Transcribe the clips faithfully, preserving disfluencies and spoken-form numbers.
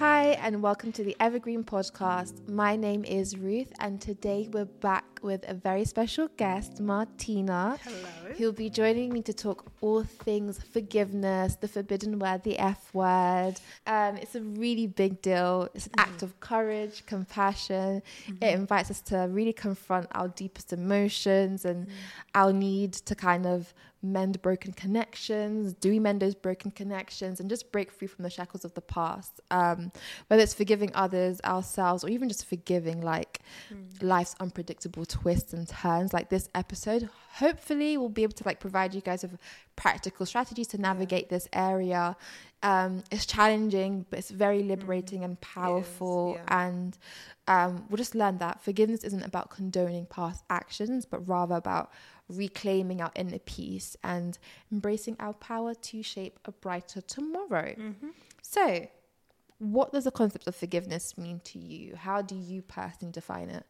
Hi, and welcome to the Evergreen Podcast. My name is Ruth, and today we're back with a very special guest, Martina. Hello. Who'll be joining me to talk all things forgiveness, the forbidden word, the F word. Um, it's a really big deal. It's an Mm-hmm. act of courage, compassion. Mm-hmm. It invites us to really confront our deepest emotions and Mm-hmm. our need to kind of mend broken connections. Do we mend those broken connections and just break free from the shackles of the past? Um, whether it's forgiving others, ourselves, or even just forgiving like Mm. life's unpredictable twists and turns. Like this episode, hopefully we'll be able to like provide you guys with practical strategies to navigate yeah. this area. Um, it's challenging, but it's very liberating mm. and powerful. Yeah. And um, we'll just learn that forgiveness isn't about condoning past actions, but rather about reclaiming our inner peace and embracing our power to shape a brighter tomorrow. Mm-hmm. So, what does the concept of forgiveness mean to you? How do you personally define it?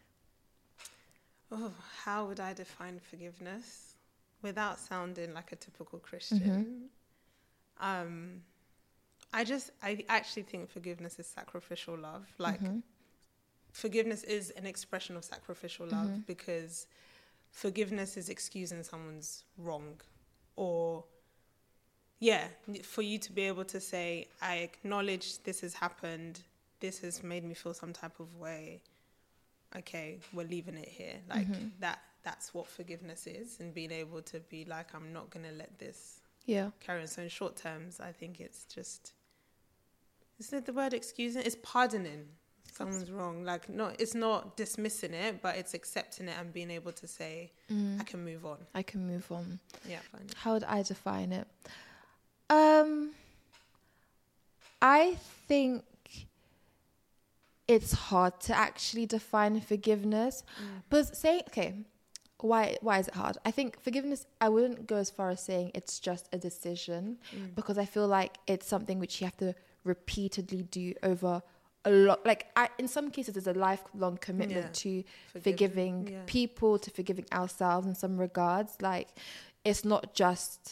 Oh, how would I define forgiveness without sounding like a typical Christian? Mm-hmm. Um, I just, I actually think forgiveness is sacrificial love. Like, mm-hmm. forgiveness is an expression of sacrificial love mm-hmm. because forgiveness is excusing someone's wrong, or yeah, for you to be able to say, I acknowledge this has happened, this has made me feel some type of way, okay, we're leaving it here. Like mm-hmm. that that's what forgiveness is, and being able to be like, I'm not going to let this yeah carry on. So in short terms, I think it's just, isn't it the word excusing? It's pardoning. Someone's wrong. Like, no, it's not dismissing it, but it's accepting it and being able to say, mm. I can move on. I can move on. Yeah, fine. How would I define it? Um, I think it's hard to actually define forgiveness. Mm. But say, okay, why why is it hard? I think forgiveness, I wouldn't go as far as saying it's just a decision mm. because I feel like it's something which you have to repeatedly do over a lot. Like I, in some cases there's a lifelong commitment yeah. to Forgive, forgiving yeah. people, to forgiving ourselves in some regards. Like it's not just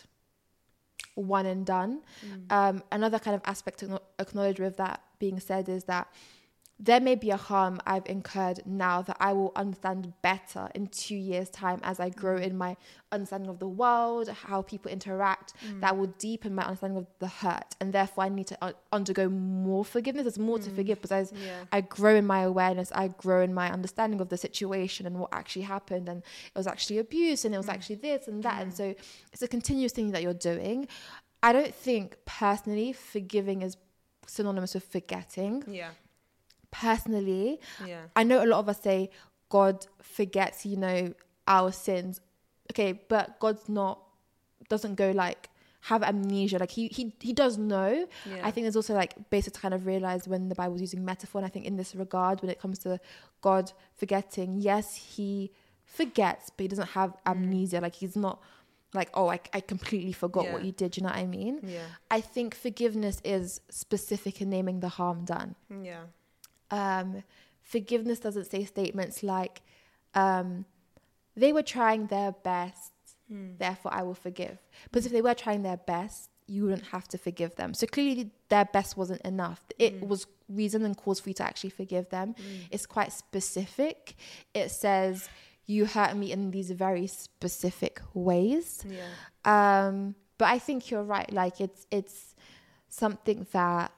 one and done. Mm. Um, another kind of aspect to acknowledge with that being said is that there may be a harm I've incurred now that I will understand better in two years' time as I grow in my understanding of the world, how people interact, mm. that will deepen my understanding of the hurt. And therefore, I need to uh, undergo more forgiveness. There's more mm. to forgive because as yeah. I grow in my awareness, I grow in my understanding of the situation and what actually happened. And it was actually abuse and it was mm. actually this and that. Mm. And so it's a continuous thing that you're doing. I don't think personally forgiving is synonymous with forgetting. Yeah. Personally, yeah. I know a lot of us say God forgets, you know, our sins. Okay, but God's not, doesn't go like, have amnesia. Like he he he does know. Yeah. I think there's also like basic to kind of realize when the Bible's using metaphor. And I think in this regard, when it comes to God forgetting, yes, he forgets, but he doesn't have amnesia. Mm. Like he's not like, oh, I, I completely forgot yeah. what you did. You know what I mean? Yeah. I think forgiveness is specific in naming the harm done. Yeah. Um, forgiveness doesn't say statements like, um, they were trying their best, mm. therefore I will forgive. Because if they were trying their best, you wouldn't have to forgive them. So clearly their best wasn't enough. It mm. was reason and cause for you to actually forgive them. Mm. It's quite specific. It says, you hurt me in these very specific ways. Yeah. Um, but I think you're right. Like it's it's something that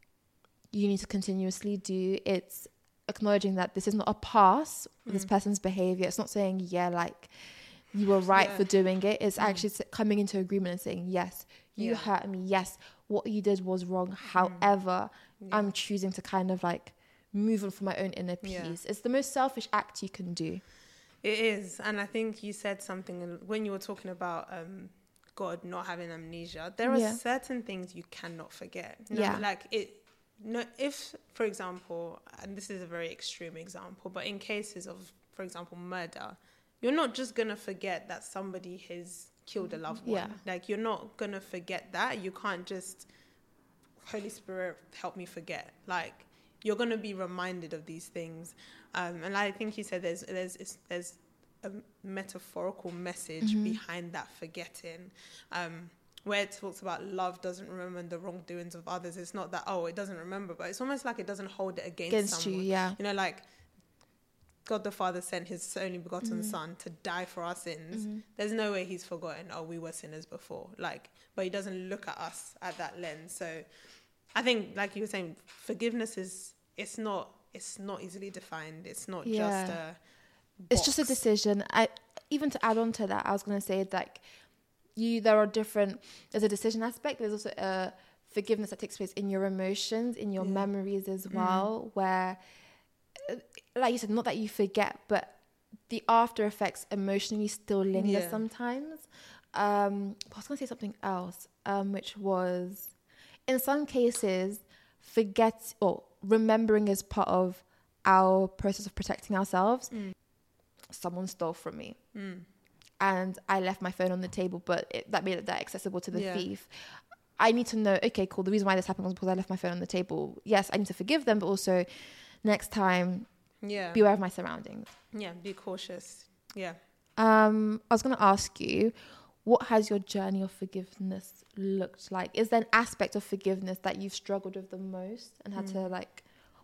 you need to continuously do. It's acknowledging that this is not a pass mm. this person's behavior. It's not saying, yeah, like you were right yeah. for doing it. It's mm. actually coming into agreement and saying, yes, you yeah. hurt me. Yes, what you did was wrong. However, mm. yeah. I'm choosing to kind of like move on for my own inner peace. Yeah. It's the most selfish act you can do. It is. And I think you said something when you were talking about um, God not having amnesia. There are yeah. certain things you cannot forget. You know, yeah. Like it, no, if, for example, and this is a very extreme example, but in cases of, for example, murder, you're not just going to forget that somebody has killed a loved one. Yeah. Like, you're not going to forget that. You can't just, Holy Spirit, help me forget. Like, you're going to be reminded of these things. Um, and I think you said there's there's there's a metaphorical message mm-hmm. behind that forgetting. Um, where it talks about love doesn't remember the wrongdoings of others. It's not that, oh, it doesn't remember, but it's almost like it doesn't hold it against, against someone. you, yeah. You know, like God the Father sent his only begotten Mm. son to die for our sins. Mhm. There's no way he's forgotten, oh, we were sinners before. Like, but he doesn't look at us at that lens. So I think, like you were saying, forgiveness is, it's not, it's not easily defined. It's not Yeah. just a It's just a box. decision. I even to add on to that, I was going to say like you there are different there's a decision aspect, there's also a forgiveness that takes place in your emotions, in your Yeah. memories as Mm. well, where uh, like you said, not that you forget, but the after effects emotionally still linger Yeah. sometimes. um I was going to say something else, um which was in some cases forget or remembering is part of our process of protecting ourselves. Mm. Someone stole from me Mm. and I left my phone on the table, but it, that made it that accessible to the Yeah. thief. I need to know, okay, cool, the reason why this happened was because I left my phone on the table. Yes, I need to forgive them, but also next time Yeah. be aware of my surroundings. Yeah. Be cautious. Yeah. Um, I was going to ask you, what has your journey of forgiveness looked like? Is there an aspect of forgiveness that you've struggled with the most and had to Mm. like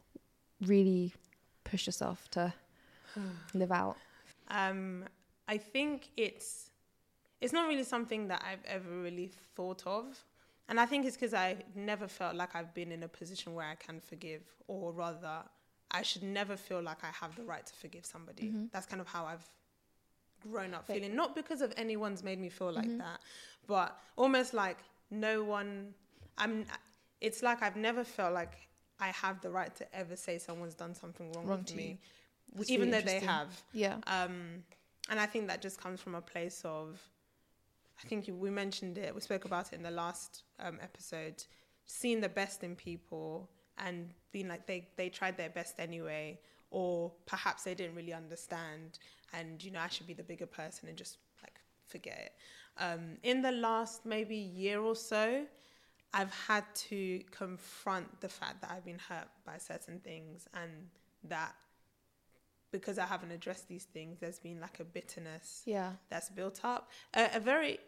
really push yourself to live out? Um, I think it's it's not really something that I've ever really thought of, and I think it's because I never felt like I've been in a position where I can forgive, or rather, I should never feel like I have the right to forgive somebody. Mhm. That's kind of how I've grown up Right. feeling, not because of anyone's made me feel like Mhm. that, but almost like no one. I'm. It's like I've never felt like I have the right to ever say someone's done something wrong, Wrong with to me, you. That's even really though they interesting. have. Yeah. Um, and I think that just comes from a place of, I think you, we mentioned it, we spoke about it in the last um, episode, seeing the best in people and being like they, they tried their best anyway, or perhaps they didn't really understand and, you know, I should be the bigger person and just like forget it. Um, in the last maybe year or so, I've had to confront the fact that I've been hurt by certain things and that because I haven't addressed these things, there's been like a bitterness Yeah. that's built up. A, a very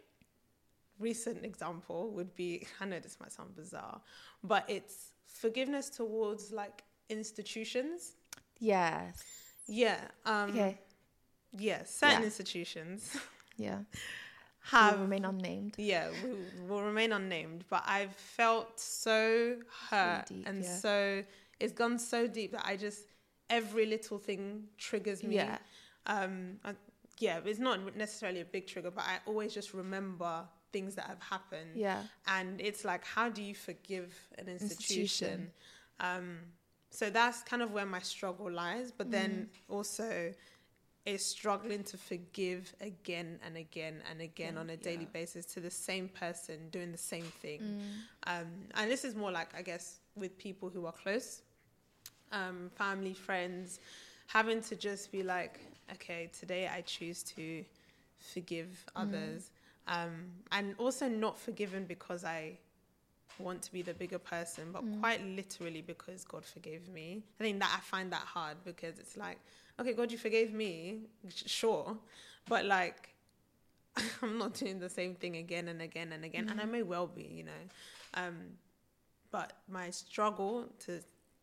recent example would be, I know this might sound bizarre, but it's forgiveness towards like institutions. Yes. Yeah. Um, Okay. Yeah, certain Yeah. institutions Yeah. have... Will remain unnamed. Yeah, we will remain unnamed. But I've felt so hurt deep, and yeah. so... It's gone so deep that I just... Every little thing triggers me. Yeah. Um, I, yeah, it's not necessarily a big trigger, but I always just remember things that have happened. Yeah. And it's like, how do you forgive an institution? Institution. Um, so that's kind of where my struggle lies. But then Mm. also... is struggling to forgive again and again and again Yeah, on a daily yeah. basis to the same person doing the same thing. Mm. Um, and this is more like, I guess, with people who are close, um, family, friends, having to just be like, okay, today I choose to forgive others. Um, and also not forgiven because I want to be the bigger person, but Mm. quite literally because God forgave me. I think that I find that hard because it's like, okay, God, you forgave me, sure, but like, I'm not doing the same thing again and again and again, Mm. and I may well be, you know. Um, but my struggle to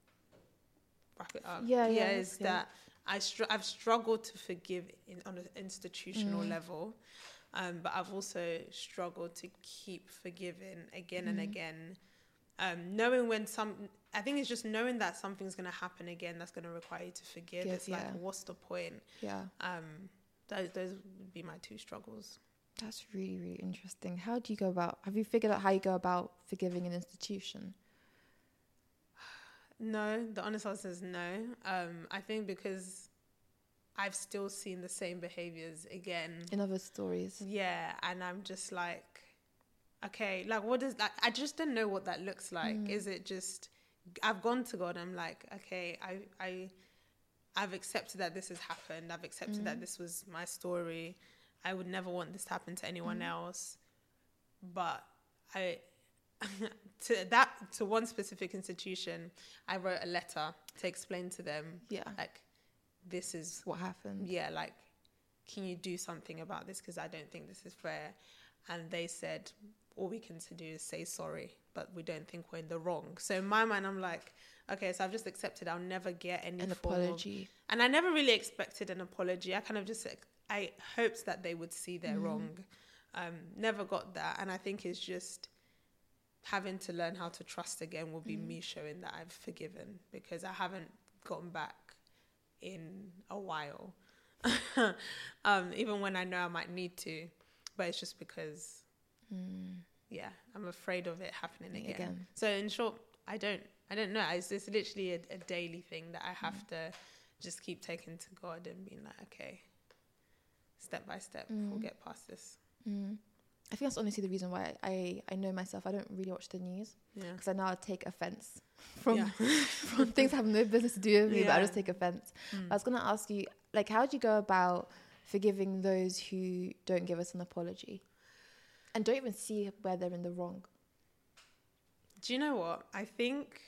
wrap it up, Yeah, yeah, is that's that I str- I've struggled to forgive in, on an institutional Mm. level, um, but I've also struggled to keep forgiving again and Mm. again. Um, knowing when some, I think it's just knowing that something's going to happen again that's going to require you to forgive. Give, It's like, yeah. what's the point? Yeah. Um, those, those would be my two struggles. That's really, really interesting. How do you go about, have you figured out how you go about forgiving an institution? No, the honest answer is no. Um, I think because I've still seen the same behaviors again. In other stories? Yeah, and I'm just like, okay, like what does like? I just don't know what that looks like. Mm. Is it just? I've gone to God. I'm like, okay, I, I, I've accepted that this has happened. I've accepted Mm. that this was my story. I would never want this to happen to anyone Mm. else. But I, to that to one specific institution, I wrote a letter to explain to them, Yeah. like, this is What happened? yeah, like, can you do something about this? Because I don't think this is fair. And they said, all we can to do is say sorry, but we don't think we're in the wrong. So in my mind, I'm like, okay, so I've just accepted I'll never get any An form apology. Of, and I never really expected an apology. I kind of just, I hoped that they would see they're mm. wrong. Um, never got that. And I think it's just having to learn how to trust again will be mm. me showing that I've forgiven, because I haven't gotten back in a while. um, even when I know I might need to, but it's just because, mm. yeah, I'm afraid of it happening again. again. So in short, I don't, I don't know. It's just literally a, a daily thing that I have mm. to just keep taking to God and being like, okay, step by step, mm. we'll get past this. Mm. I think that's honestly the reason why I, I know myself. I don't really watch the news because yeah. I now take offense from yeah. from things that have no business to do with me, yeah. but I just take offense. Mm. I was going to ask you, like, how do you go about forgiving those who don't give us an apology and don't even see where they're in the wrong? Do you know what? I think,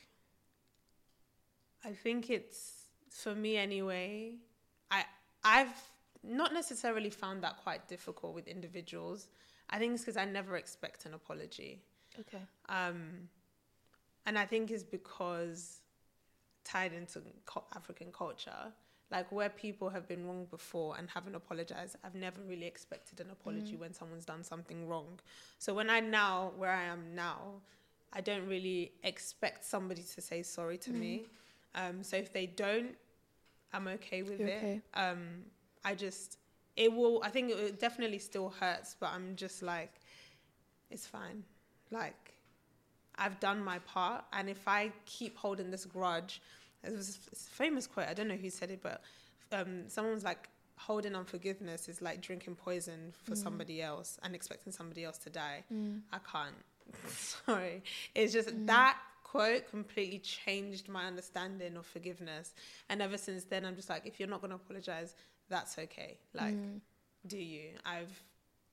I think it's, for me anyway, I, I've not necessarily found that quite difficult with individuals. I think it's because I never expect an apology. Okay. Um, and I think it's because tied into co- African culture, like where people have been wrong before and haven't apologized, I've never really expected an apology mm. when someone's done something wrong. So when I now, where I am now, I don't really expect somebody to say sorry to mm. me. Um, so if they don't, I'm okay with You're it. Okay. Um, I just... It will, I think it definitely still hurts, but I'm just like, it's fine. Like, I've done my part. And if I keep holding this grudge, it was a famous quote, I don't know who said it, but um, someone's like, holding unforgiveness is like drinking poison for mm. somebody else and expecting somebody else to die. Mm. I can't. Sorry. It's just mm. that quote completely changed my understanding of forgiveness. And ever since then, I'm just like, if you're not going to apologize, that's okay. Like, mm. do you? I've,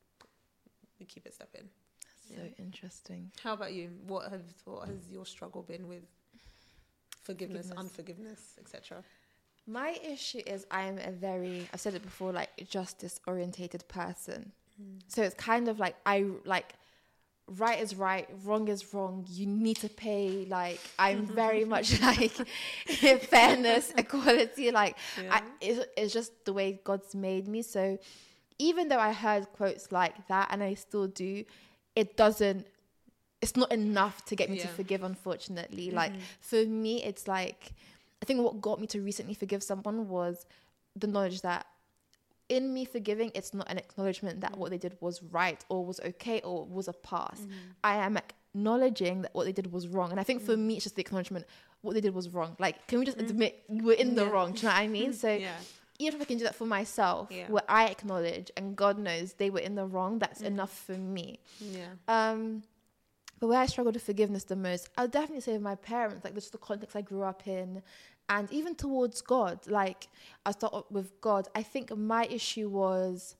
we keep it stepping. So yeah. Interesting. How about you? What have what has your struggle been with forgiveness, forgiveness. unforgiveness, et cetera? My issue is I'm a very, I've said it before, like justice-orientated person. Mm. So it's kind of like I like right is right, wrong is wrong. You need to pay. Like I'm very much like fairness, equality. Like yeah. I, it's, it's just the way God's made me. So even though I heard quotes like that, and I still do, it doesn't. It's not enough to get me yeah. to forgive. Unfortunately, mm-hmm. like for me, it's like I think what got me to recently forgive someone was the knowledge that. In me forgiving, it's not an acknowledgement that mm. what they did was right or was okay or was a pass. Mm. I am acknowledging that what they did was wrong. And I think mm. for me, it's just the acknowledgement, what they did was wrong. Like, can we just mm. admit we're in the yeah. wrong? Do you know what I mean? So yeah. even if I can do that for myself, yeah. where I acknowledge and God knows they were in the wrong, that's mm. enough for me. Yeah. Um, but where I struggled with forgiveness the most, I'll definitely say with my parents, like this is the context I grew up in. And even towards God, like I start with God, I think my issue was,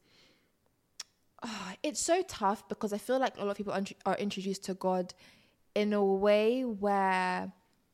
oh, it's so tough because I feel like a lot of people are introduced to God in a way where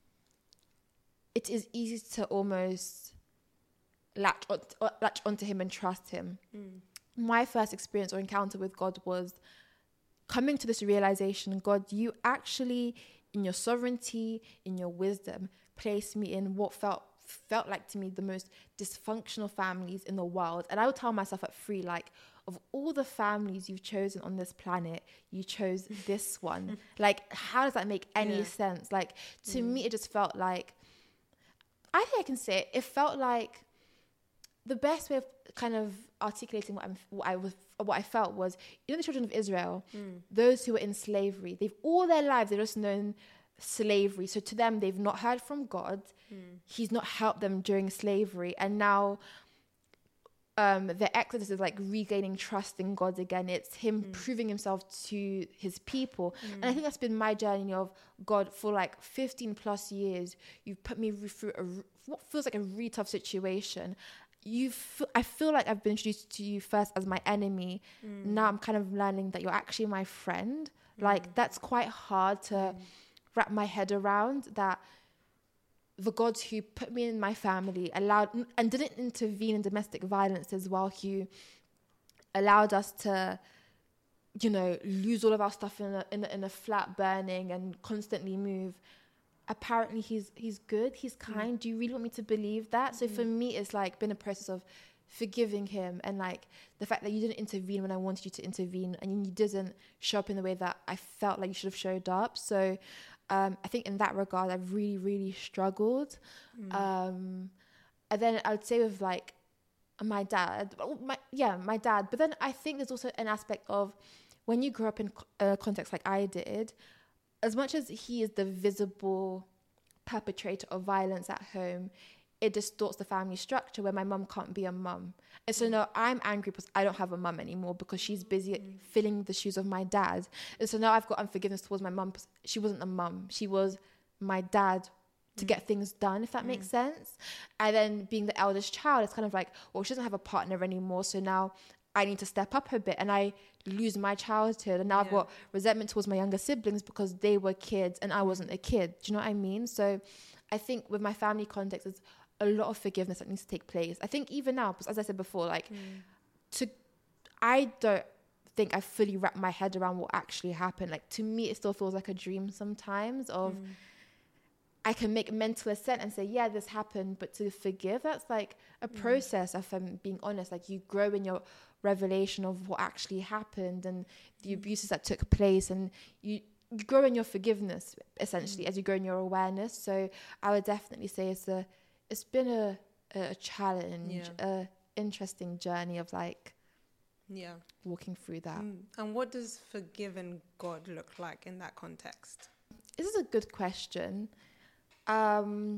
it is easy to almost latch, on, latch onto him and trust him. Mm. My first experience or encounter with God was coming to this realization, God, you actually, in your sovereignty, in your wisdom, placed me in what felt felt like to me the most dysfunctional families in the world. And I would tell myself at three, like, of all the families you've chosen on this planet, you chose this one. Like, how does that make any yeah. sense? Like, to mm. me, it just felt like, I think I can say it, it felt like the best way of kind of articulating what, I'm, what I was, what I felt was, you know, the children of Israel, mm. those who were in slavery, they've all their lives, they've just known slavery. So to them, they've not heard from God. Mm. He's not helped them during slavery. And now um, the Exodus is like regaining trust in God again. It's him mm. proving himself to his people. Mm. And I think that's been my journey of God for like fifteen plus years. You've put me through a, what feels like a really tough situation. You, f- I feel like I've been introduced to you first as my enemy. Mm. Now I'm kind of learning that you're actually my friend. Mm. Like that's quite hard to mm. wrap my head around, that the God who put me in my family allowed and didn't intervene in domestic violence as well, who allowed us to you know, lose all of our stuff in a, in a, in a flat burning and constantly move. Apparently he's he's good, he's kind. Mm. Do you really want me to believe that? So mm. for me, it's like been a process of forgiving him, and like the fact that you didn't intervene when I wanted you to intervene, and you didn't show up in the way that I felt like you should have showed up. So um, I think in that regard, I've really, really struggled. Mm. Um, and then I would say with like my dad, my, yeah, my dad. But then I think there's also an aspect of when you grow up in a context like I did, as much as he is the visible perpetrator of violence at home, it distorts the family structure where my mum can't be a mum. And so now I'm angry because I don't have a mum anymore because she's busy mm. filling the shoes of my dad. And so now I've got unforgiveness towards my mum because she wasn't a mum. She was my dad to mm. get things done, if that mm. makes sense. And then being the eldest child, it's kind of like, well, she doesn't have a partner anymore. So now I need to step up a bit, and I lose my childhood. And now yeah. I've got resentment towards my younger siblings because they were kids and I wasn't a kid. Do you know what I mean? So I think with my family context, there's a lot of forgiveness that needs to take place. I think even now, because as I said before, like mm. to, I don't think I fully wrap my head around what actually happened. Like to me, it still feels like a dream sometimes of, mm. I can make mental assent and say, yeah, this happened, but to forgive, that's like a mm. process, if I'm being honest. Like you grow in your revelation of what actually happened and the mm. abuses that took place, and you, you grow in your forgiveness, essentially, mm. as you grow in your awareness. So I would definitely say it's a, it's been a, a challenge, yeah. a interesting journey of like, yeah, walking through that. Mm. And what does forgiving God look like in that context? This is a good question. Um,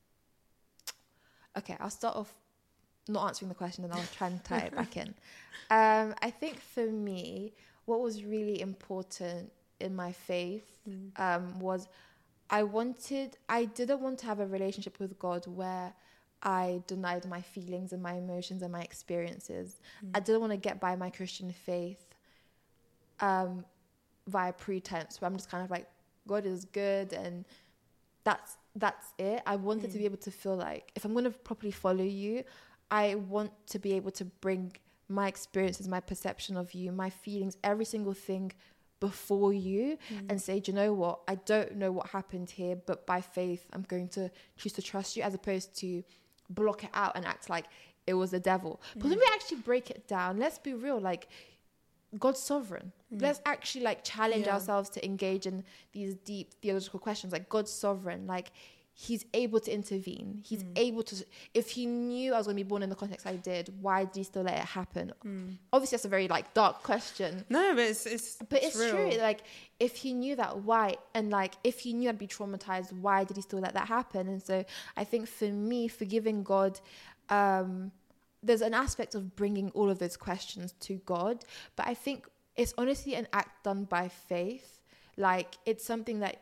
okay, I'll start off not answering the question and I'll try and tie it back in. Um, I think for me, what was really important in my faith mm. um, was I wanted, I didn't want to have a relationship with God where I denied my feelings and my emotions and my experiences. Mm. I didn't want to get by my Christian faith um, via pretense, where I'm just kind of like, God is good and that's that's it. I wanted mm. to be able to feel like if I'm going to properly follow you, I want to be able to bring my experiences, my perception of you, my feelings, every single thing before you mm. and say, do you know what? I don't know what happened here, but by faith, I'm going to choose to trust you, as opposed to block it out and act like it was the devil. Mm. But when we actually break it down, let's be real, like God's sovereign. Mm. Let's actually like challenge yeah. ourselves to engage in these deep theological questions. Like God's sovereign, like he's able to intervene. He's mm. able to, if he knew I was going to be born in the context I did, why did he still let it happen? Mm. Obviously that's a very like dark question. No, but it's, it's but it's, it's true. Like if he knew that, why? And like if he knew I'd be traumatized, why did he still let that happen? And so I think for me, forgiving God, um, there's an aspect of bringing all of those questions to God, but I think it's honestly an act done by faith. Like it's something that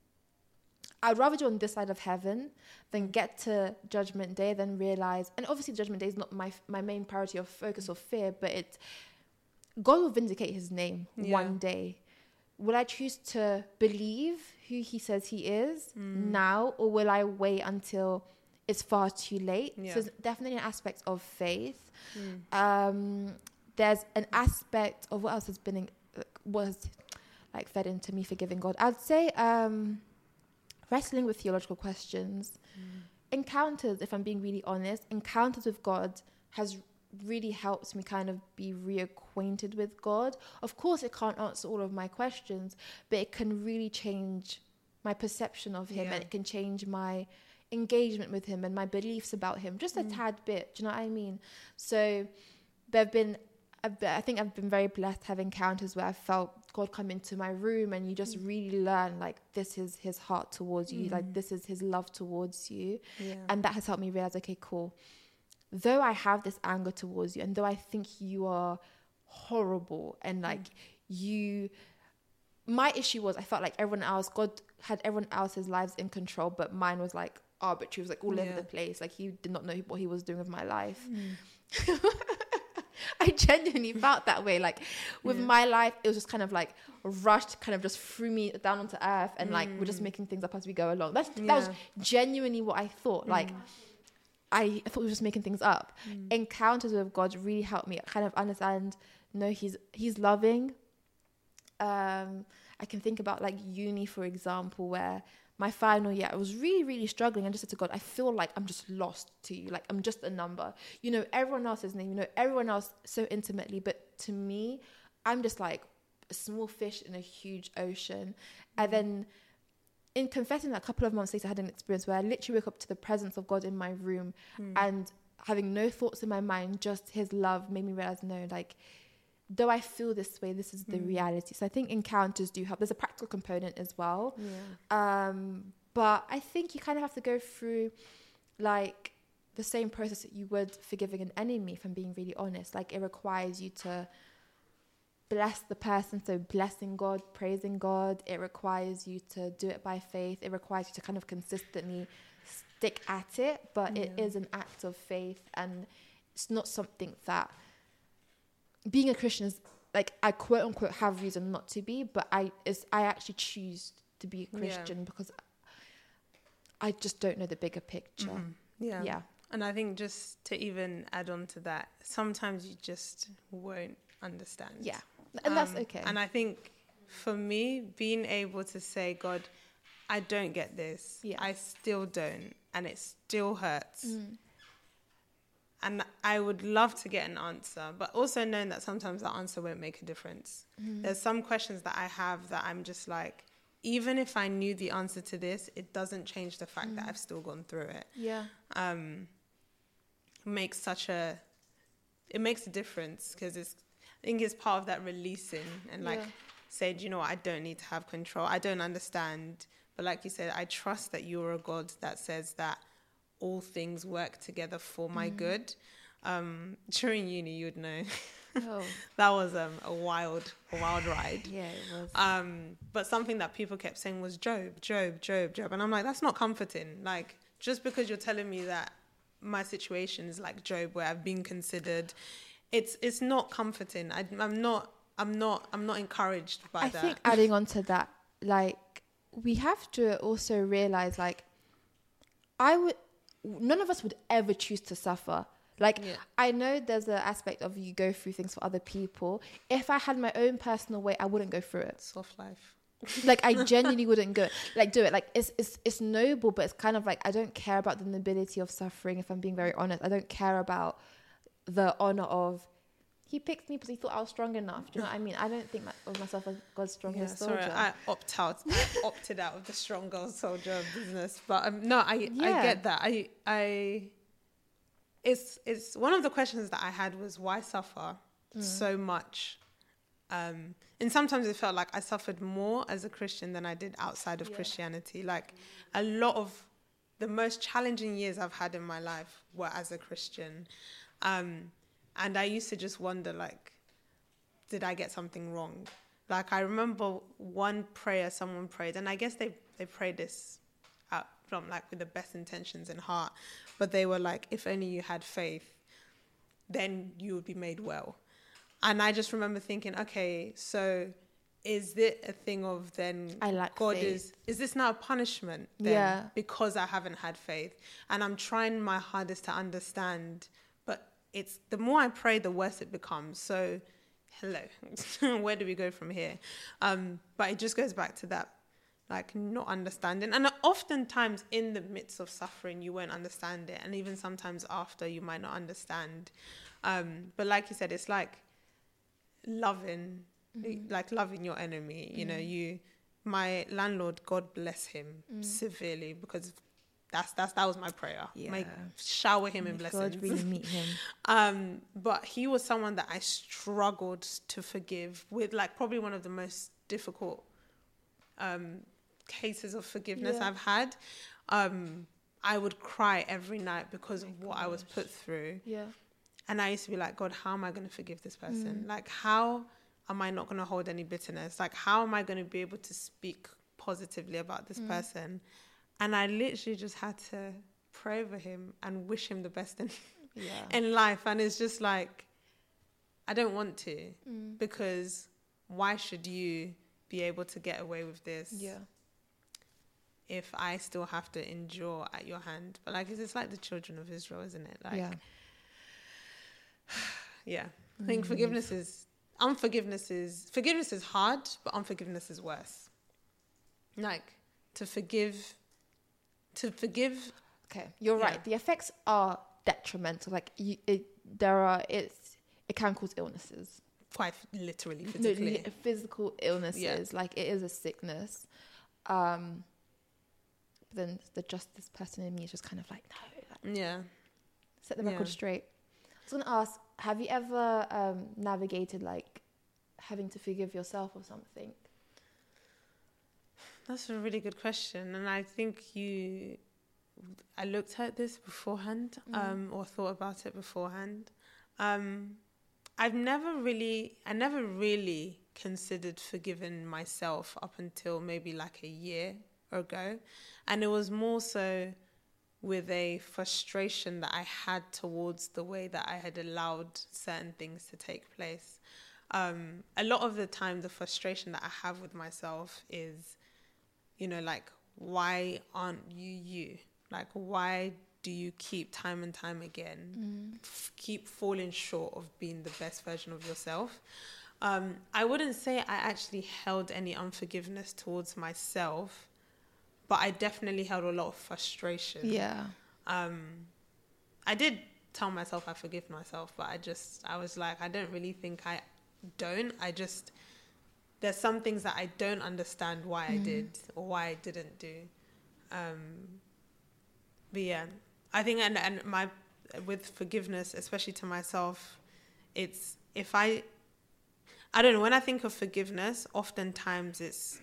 I'd rather do on this side of heaven than get to Judgment Day, then realize, and obviously Judgment Day is not my my main priority of focus or fear, but it, God will vindicate his name yeah. one day. Will I choose to believe who he says he is mm. now, or will I wait until it's far too late? Yeah. So there's definitely an aspect of faith. Mm. Um, there's an aspect of what else has been in, was like fed into me forgiving God. I'd say um, wrestling with theological questions, mm. encounters. If I'm being really honest, encounters with God has really helped me kind of be reacquainted with God. Of course, it can't answer all of my questions, but it can really change my perception of him, yeah. and it can change my engagement with him and my beliefs about him just a mm. tad bit. Do you know what I mean? So there have been, I think I've been very blessed to have encounters where I felt God come into my room, and you just mm. really learn like this is his heart towards you, mm. like this is his love towards you. Yeah. And that has helped me realize, okay, cool. Though I have this anger towards you, and though I think you are horrible and like mm. you, my issue was I felt like everyone else, God had everyone else's lives in control, but mine was like arbitrary, was like all yeah. over the place. Like he did not know what he was doing with my life. Mm. I genuinely felt that way. Like with yeah. my life, it was just kind of like rushed, kind of just threw me down onto earth, and mm. like we're just making things up as we go along. That's yeah. that was genuinely what I thought. Mm. Like I, I thought we were just making things up. Mm. Encounters with God really helped me kind of understand. No, he's he's loving. um, I can think about like uni, for example, where my final year, I was really, really struggling. I just said to God, I feel like I'm just lost to you. Like I'm just a number. You know, everyone else's name, you know, everyone else so intimately. But to me, I'm just like a small fish in a huge ocean. Mm-hmm. And then in confessing that, a couple of months later, I had an experience where I literally woke up to the presence of God in my room mm. and having no thoughts in my mind, just his love made me realize, no, like, though I feel this way, this is the mm. reality. So I think encounters do help. There's a practical component as well. Yeah. Um, but I think you kind of have to go through like the same process that you would forgiving an enemy, if I'm being really honest. Like it requires you to bless the person. So blessing God, praising God. It requires you to do it by faith. It requires you to kind of consistently stick at it. But yeah. it is an act of faith, and it's not something that... Being a Christian is like, I quote unquote have reason not to be, but I is I actually choose to be a Christian yeah. because I just don't know the bigger picture. Mm-hmm. Yeah. Yeah. And I think just to even add on to that, sometimes you just won't understand. Yeah. And um, that's okay. And I think for me, being able to say, God, I don't get this. Yeah. I still don't. And it still hurts. Mm. And I would love to get an answer, but also knowing that sometimes that answer won't make a difference. Mm. There's some questions that I have that I'm just like, even if I knew the answer to this, it doesn't change the fact mm. that I've still gone through it. Yeah. Um, it makes such a, it makes a difference because it's, I think it's part of that releasing and like yeah. saying, you know what, I don't need to have control. I don't understand. But like you said, I trust that you're a God that says that all things work together for my mm. good. Um, during uni, you'd know. Oh. That was um, a wild, a wild ride. Yeah, it was. Um, but something that people kept saying was Job, Job, Job, Job. And I'm like, that's not comforting. Like, just because you're telling me that my situation is like Job, where I've been considered, it's it's not comforting. I, I'm not, I'm not, I'm not encouraged by I that. I think adding on to that, like, we have to also realize, like, I would, none of us would ever choose to suffer. Like, yeah. I know there's an aspect of you go through things for other people. If I had my own personal way, I wouldn't go through it. Soft life. Like, I genuinely wouldn't go, like, do it. Like, it's, it's, it's noble, but it's kind of like, I don't care about the nobility of suffering, if I'm being very honest. I don't care about the honor of, he picked me because he thought I was strong enough. Do you know what I mean? I don't think my, of myself as God's strongest yeah, soldier. Sorry, I opt out. I opted out of the strong girl soldier business. But um, no, I yeah. I get that. I I it's it's one of the questions that I had was, why suffer mm. so much? Um, and sometimes it felt like I suffered more as a Christian than I did outside of yeah. Christianity. Like a lot of the most challenging years I've had in my life were as a Christian. Um, And I used to just wonder, like, did I get something wrong? Like, I remember one prayer someone prayed, and I guess they, they prayed this out from, like, with the best intentions in heart. But they were like, if only you had faith, then you would be made well. And I just remember thinking, okay, so is it a thing of then I like God faith. is, is this now a punishment then yeah. because I haven't had faith? And I'm trying my hardest to understand, it's the more I pray, the worse it becomes. So, hello, where do we go from here? Um, but it just goes back to that, like, not understanding. And oftentimes in the midst of suffering, you won't understand it. And even sometimes after, you might not understand. Um, but like you said, it's like loving, mm-hmm. like loving your enemy. Mm-hmm. You know, you, my landlord, God bless him mm-hmm. severely, because That's that's that was my prayer. Yeah. My shower him in blessings. God really meet him. um, but he was someone that I struggled to forgive with, like probably one of the most difficult um, cases of forgiveness yeah. I've had. Um, I would cry every night because oh of what gosh. I was put through. Yeah. And I used to be like, God, how am I going to forgive this person? Mm. Like, how am I not going to hold any bitterness? Like, how am I going to be able to speak positively about this mm. person? And I literally just had to pray over him and wish him the best in, yeah. in life. And it's just like, I don't want to mm. because why should you be able to get away with this yeah. if I still have to endure at your hand? But like, it's, it's like the children of Israel, isn't it? Like, yeah. yeah. I think mm. forgiveness is, unforgiveness is forgiveness is hard, but unforgiveness is worse. Like to forgive, to forgive. Okay, you're Yeah. right. The effects are detrimental. Like you, it, there are. It's it can cause illnesses. Quite literally, No, physically. li- physical illnesses. Yeah. Like it is a sickness. Um. But then the justice person in me is just kind of like, no. Like, Yeah. set the record Yeah. straight. I was gonna ask, have you ever um, navigated like having to forgive yourself or something? That's a really good question, and I think you. I looked at this beforehand, Mm. um, or thought about it beforehand. Um, I've never really, I never really considered forgiving myself up until maybe like a year ago, and it was more so with a frustration that I had towards the way that I had allowed certain things to take place. Um, a lot of the time, the frustration that I have with myself is, you know, like, why aren't you you? Like, why do you keep time and time again, f- keep falling short of being the best version of yourself? Um, I wouldn't say I actually held any unforgiveness towards myself, but I definitely held a lot of frustration. Yeah. Um, I did tell myself I forgive myself, but I just, I was like, I don't really think I don't. I just, there's some things that I don't understand why I did or why I didn't do. Um, but yeah, I think, and, and my, with forgiveness, especially to myself, it's, if I, I don't know, when I think of forgiveness, oftentimes it's,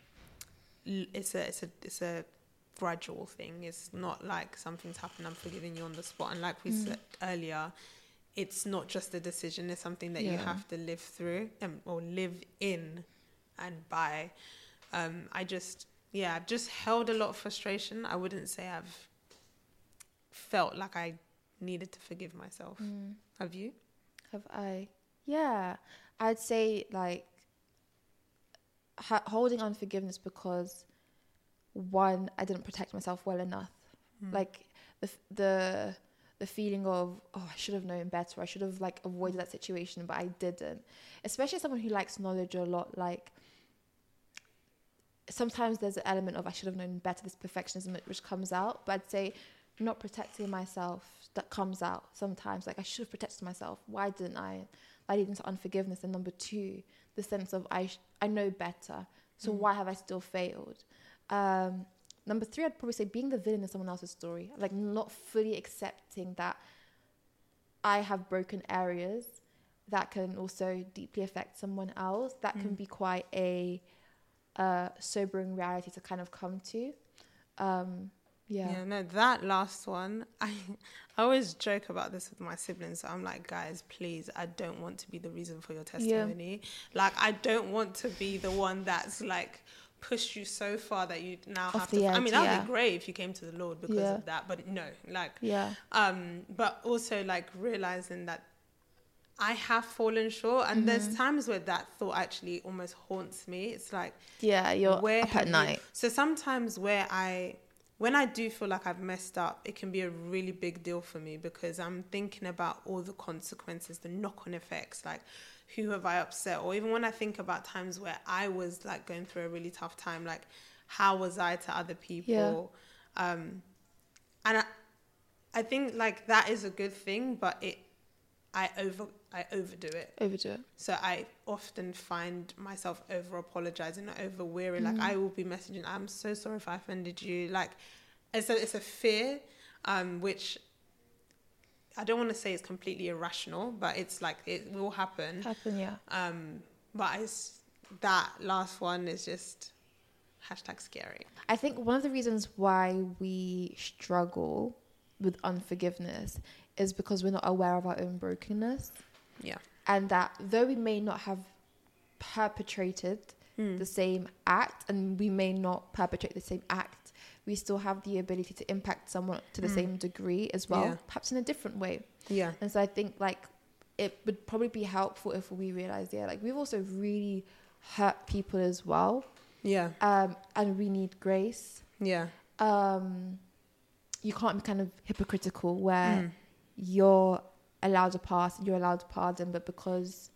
it's a, it's a, it's a gradual thing. It's not like something's happened, I'm forgiving you on the spot. And like we mm. said earlier, it's not just a decision, it's something that yeah. you have to live through um, or live in and by. Um, I just, yeah, I've just held a lot of frustration. I wouldn't say I've felt like I needed to forgive myself. Mm. Have you? Have I? Yeah. I'd say like ha- holding on forgiveness because one, I didn't protect myself well enough. Mm. Like the the the feeling of, oh, I should have known better. I should have like avoided that situation, but I didn't. Especially as someone who likes knowledge a lot, like sometimes there's an element of I should have known better, this perfectionism which comes out. But I'd say not protecting myself, that comes out sometimes. Like I should have protected myself. Why didn't I? I lead into unforgiveness. And number two, the sense of I sh- I know better. So mm. why have I still failed? Um, number three, I'd probably say being the villain in someone else's story. Like not fully accepting that I have broken areas that can also deeply affect someone else. That mm. can be quite a uh, sobering reality to kind of come to. Um, yeah. Yeah, no, that last one, I, I always joke about this with my siblings. So I'm like, guys, please, I don't want to be the reason for your testimony. Yeah. Like, I don't want to be the one that's like pushed you so far that you now Off have to. Edge, I mean, that would yeah. be great if you came to the Lord because yeah. of that, but no, like, yeah. Um, but also like realizing that I have fallen short, and mm-hmm. there's times where that thought actually almost haunts me. It's like, yeah, you're where up at night. You... So sometimes where I. When I do feel like I've messed up, it can be a really big deal for me because I'm thinking about all the consequences, the knock-on effects, like who have I upset? Or even when I think about times where I was like going through a really tough time, like how was I to other people? Yeah. Um, and I, I think like that is a good thing, but it, I over, I overdo it. Overdo it. So I often find myself over apologizing, over weary. Mm. Like I will be messaging, I'm so sorry if I offended you. Like it's a, it's a fear, um, which I don't want to say it's completely irrational, but it's like, it will happen. Happen, yeah. Um, but it's, that last one is just hashtag scary. I think one of the reasons why we struggle with unforgiveness is because we're not aware of our own brokenness. Yeah. And that though we may not have perpetrated mm. the same act, and we may not perpetrate the same act, we still have the ability to impact someone to the mm. same degree as well, yeah. perhaps in a different way. Yeah. And so I think like it would probably be helpful if we realized, yeah, like we've also really hurt people as well. Yeah. Um, and we need grace. Yeah. Um, you can't be kind of hypocritical where mm. you're allowed a pass, you're allowed to pardon, but because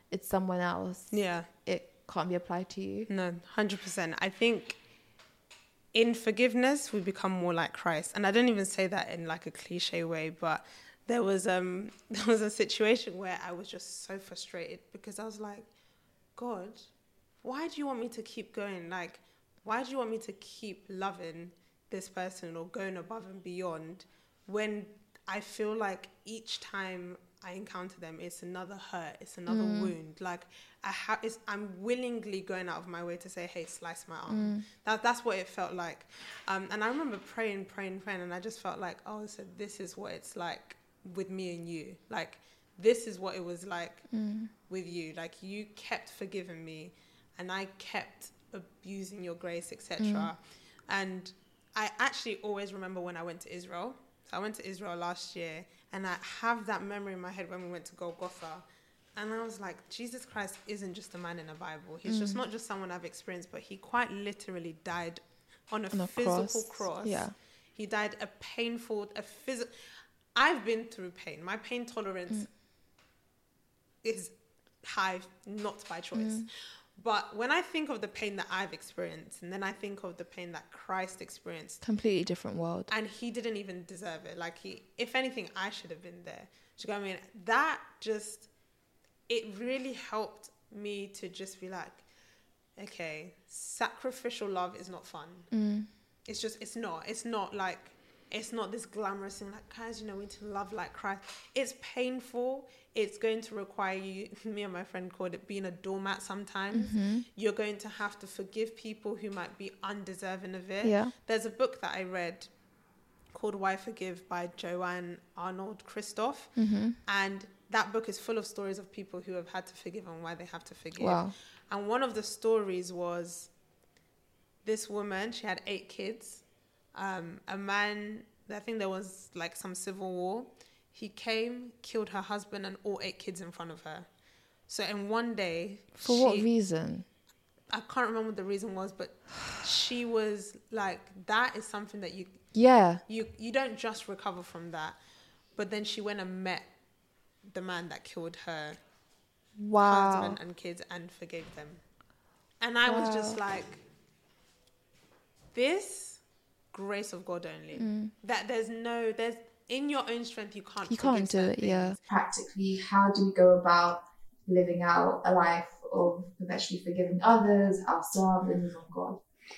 it's someone else, yeah, it can't be applied to you. No, one hundred percent. I think in forgiveness, we become more like Christ. And I don't even say that in like a cliche way, but there was um there was a situation where I was just so frustrated because I was like, God, why do you want me to keep going? Like, why do you want me to keep loving this person or going above and beyond when I feel like each time I encounter them, it's another hurt, it's another mm. wound. Like I have, I'm willingly going out of my way to say, "Hey, slice my arm." Mm. That that's what it felt like. Um, and I remember praying, praying, praying, and I just felt like, oh, so this is what it's like with me and you. Like this is what it was like mm. with you. Like you kept forgiving me, and I kept abusing your grace, et cetera. Mm. And I actually always remember when I went to Israel. So I went to Israel last year, and I have that memory in my head when we went to Golgotha. And I was like, Jesus Christ isn't just a man in a Bible. He's mm. just not just someone I've experienced, but he quite literally died on a on physical cross. cross. Yeah. He died a painful, a physical... I've been through pain. My pain tolerance mm. is high, not by choice. Mm. But when I think of the pain that I've experienced, and then I think of the pain that Christ experienced... Completely different world. And he didn't even deserve it. Like, he, if anything, I should have been there. Do you know what I mean? That just... It really helped me to just be like, okay, sacrificial love is not fun. Mm. It's just, it's not. It's not like... It's not this glamorous thing like, guys, you know, we need to love like Christ. It's painful. It's going to require you, me and my friend called it being a doormat sometimes. Mm-hmm. You're going to have to forgive people who might be undeserving of it. Yeah. There's a book that I read called Why Forgive by Joanne Arnold Christoph. Mm-hmm. And that book is full of stories of people who have had to forgive and why they have to forgive. Wow. And one of the stories was this woman, she had eight kids. Um, a man, I think there was like some civil war. He came, killed her husband and all eight kids in front of her. So in one day... For she, what reason? I can't remember what the reason was, but she was like, that is something that you... Yeah. You, you don't just recover from that. But then she went and met the man that killed her wow. husband and kids and forgave them. And I wow. was just like, this... grace of God only. Mm. That there's no, there's in your own strength you can't. You can't do it. Things. Yeah. Practically, how do we go about living out a life of perpetually forgiving others, ourselves, and even God?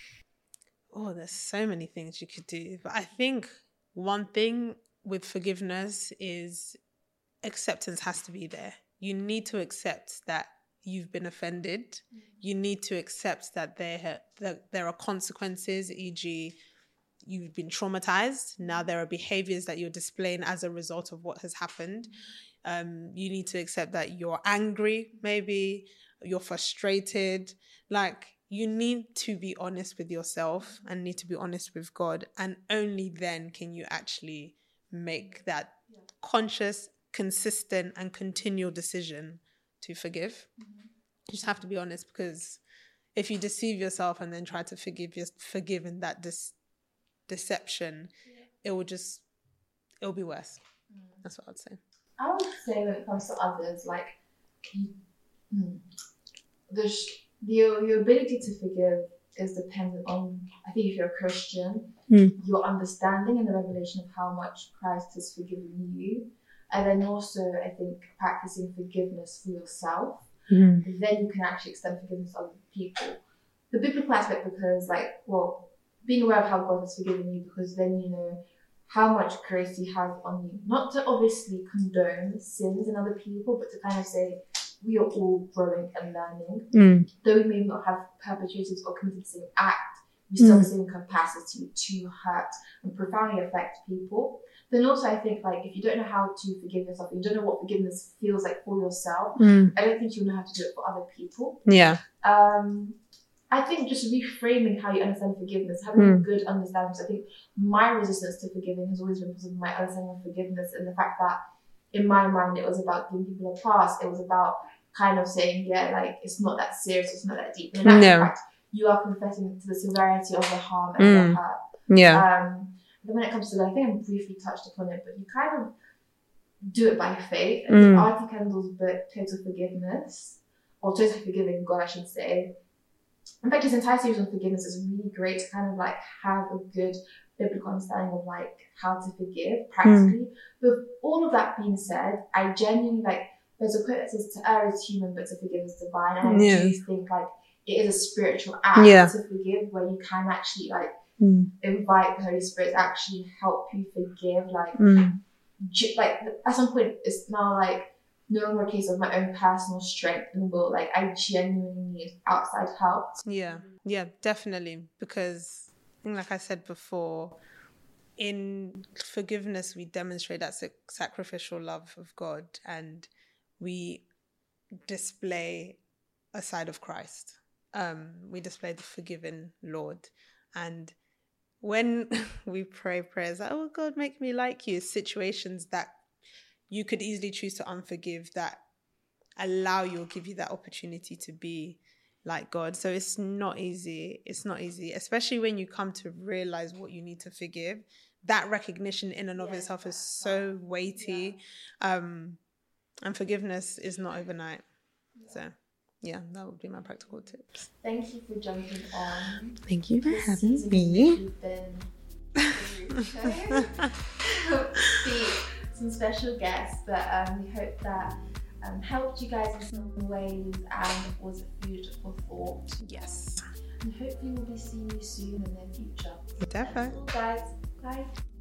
Oh, there's so many things you could do, but I think one thing with forgiveness is acceptance has to be there. You need to accept that you've been offended. Mm. You need to accept that there that there are consequences, for example you've been traumatized. Now there are behaviors that you're displaying as a result of what has happened. Um, you need to accept that you're angry, maybe you're frustrated. Like you need to be honest with yourself and need to be honest with God. And only then can you actually make that yeah. conscious, consistent and continual decision to forgive. Mm-hmm. You just have to be honest, because if you deceive yourself and then try to forgive, your, forgive in that dis- deception, yeah. it will just, it will be worse. Mm. That's what I'd say. I would say when it comes to others, like, you, hmm, the, your, your ability to forgive is dependent on, I think if you're a Christian, mm. your understanding and the revelation of how much Christ has forgiven you. And then also, I think, practicing forgiveness for yourself. Mm. Then you can actually extend forgiveness to other people. The biblical aspect, because, like, well, being aware of how God has forgiven you, because then you know how much grace he has on you. Not to obviously condone sins in other people, but to kind of say we are all growing and learning. Mm. Though we may not have perpetrated or committed the same act, we still mm. have the same capacity to hurt and profoundly affect people. Then also I think, like, if you don't know how to forgive yourself, you don't know what forgiveness feels like for yourself, mm. I don't think you'll know how to do it for other people. Yeah. Um, I think just reframing how you understand forgiveness, having mm. a good understanding. So I think my resistance to forgiving has always been because of my understanding of forgiveness and the fact that in my mind it was about giving people a pass. It was about kind of saying, yeah, like, it's not that serious, it's not that deep. And in no. fact, you are confessing to the severity of the harm and mm. the hurt. Yeah. Um, then when it comes to that, I think I briefly touched upon it, but you kind of do it by faith. I think mm. Artie Kendall's book, Total Forgiveness, or totally forgiving God, I should say. In fact, this entire series on forgiveness is really great to kind of like have a good biblical understanding of like how to forgive practically. Mm. With all of that being said, I genuinely like, there's a quote that says to err is human, but to forgive is divine. And I yeah. do think like it is a spiritual act yeah. to forgive, where you can actually like mm. invite the Holy Spirit to actually help you forgive. Like, mm. ge- like at some point, it's now like no longer a case of my own personal strength and will. Like, I genuinely need outside help. Yeah, yeah, definitely. Because, like I said before, in forgiveness, we demonstrate that sacrificial love of God, and we display a side of Christ. Um, we display the forgiving Lord. And when we pray prayers like, oh God, make me like you, situations that you could easily choose to unforgive, that allow you or give you that opportunity to be like God. So it's not easy. It's not easy, especially when you come to realize what you need to forgive. That recognition in and of yeah, itself is so weighty. Yeah. Um, and forgiveness is not overnight. Yeah. So yeah, that would be my practical tips. Thank you for jumping on. Thank you for this having me. Some special guests, but um, we hope that um, helped you guys in some ways and was food for thought. Yes. And hopefully we'll be seeing you soon in the future. Definitely. Guys, bye.